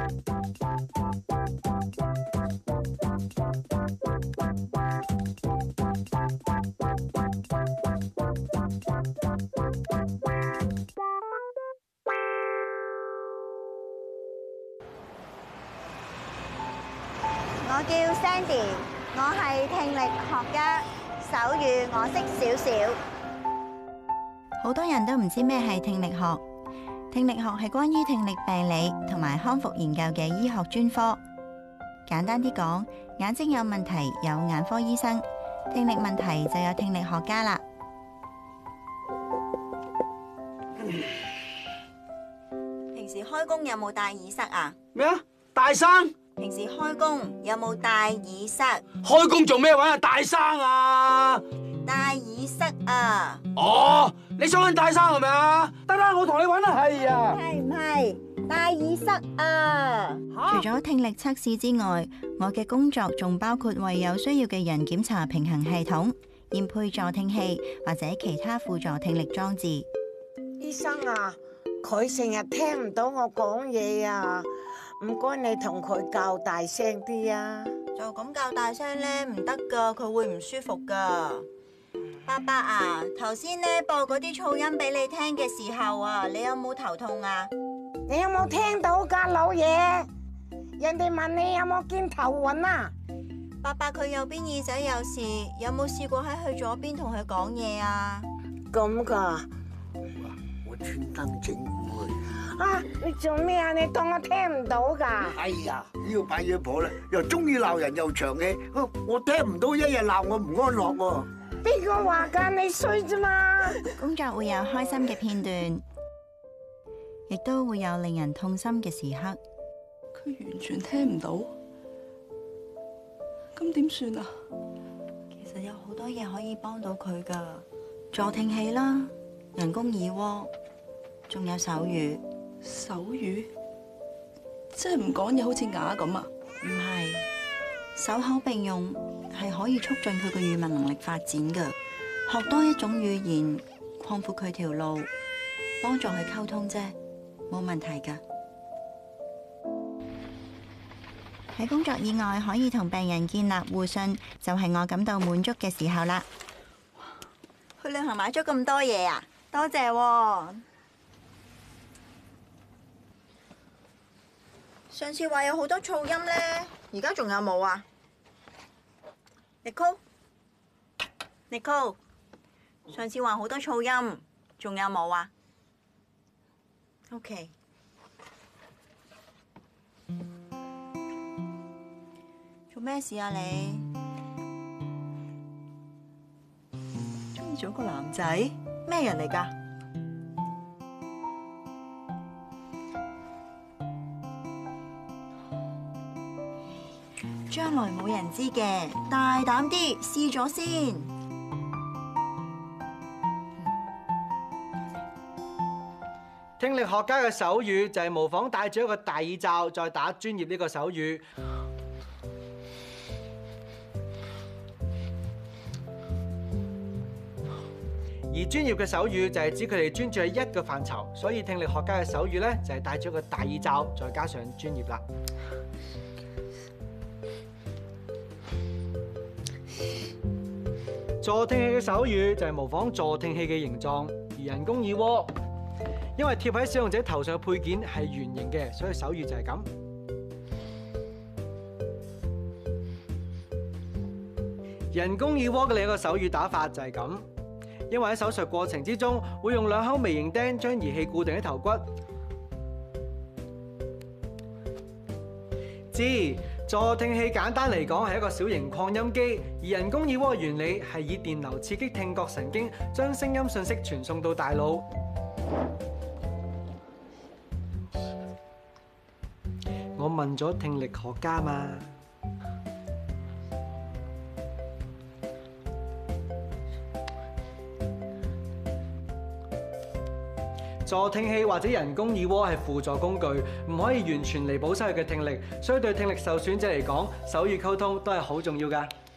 我叫 Sandy， 我係聽力學家，手語我識少少。好多人都唔知咩係聽力學。聽力學係關於聽力病理同埋康復研究嘅醫學專科。簡單啲講，眼睛有問題有眼科醫生，聽力問題就有聽力學家啦。平時開工有冇戴耳塞啊？ 咩啊？大生？ 平時開工有冇戴耳塞？ 開工做咩揾阿大生啊？ 戴耳塞啊！ 哦，你想揾大生係咪啊？得啦，我同你揾啦。係啊。 係唔係戴耳塞啊？除咗聽力測試之外，我嘅工作仲包括為有需要嘅人檢查平衡系統、驗配助聽器或者其他輔助聽力裝置。 醫生啊，佢成日聽唔到我講嘢啊！唔該，你同佢較大聲啲啊！ 就咁較大聲咧唔得噶，佢會唔舒服噶。爸爸啊，頭先咧播嗰啲噪音俾你聽嘅時候啊，你有冇頭痛啊？ 你有冇聽到㗎，老爺？人哋問你有冇見頭暈啊？ 爸爸佢右邊耳仔有事，有冇試過喺佢左邊同佢講嘢啊？ 咁㗎？ 我專登整佢。 啊！你做咩啊？你當我聽唔到㗎？ 哎呀，呢個扮嘢婆咧，又中意鬧人又長氣，我聽唔到，一日鬧我唔安樂喎。 邊個話㗎？你衰啫嘛！ 工作會有開心嘅片段，亦都會有令人痛心嘅時刻。 佢完全聽唔到，咁點算啊？ 其實有好多嘢可以幫到佢㗎，助聽器啦，人工耳蝸，仲有手語。 手語？即係唔講嘢好似啞咁啊？ 唔係，手口並用係可以促進佢嘅語文能力發展㗎。學多一種語言，擴闊佢條路，幫助佢溝通啫，冇問題㗎。喺工作以外可以同病人建立互信，就係我感到滿足嘅時候啦。去旅行買咗咁多嘢啊，多謝喎。上次話有好多噪音呢，而家仲有冇啊 ？Nicole，上次話好多噪音，仲有冇啊 ？OK。做咩事啊你？ 中意咗個男仔？ 咩人嚟㗎？將來冇人知嘅，大膽啲試咗先。 聽力學家嘅手語就係模仿戴住一個大耳罩，再打專業呢個手語。而專業嘅手語就係指佢哋專注喺一個範疇，所以聽力學家嘅手語咧就係戴住一個大耳罩，再加上專業啦。助聽器嘅手語就係模仿助聽器嘅形狀，而人工耳蝸因為貼喺使用者頭上嘅配件係圓形嘅，所以手語就係咁。人工耳蝸嘅另一個手語打法就係咁，因為喺手術過程之中會用2口微型釘將儀器固定喺頭骨。助聽器簡單嚟講係一個小型擴音機，而人工耳蝸嘅原理係以電流刺激聽覺神經，將聲音訊息傳送到大腦。我問咗聽力學家嘛。助聽器或者人工耳蝸係輔助工具，唔可以完全彌補失去嘅聽力，所以對聽力受損者嚟講，手語溝通都係好重要㗎。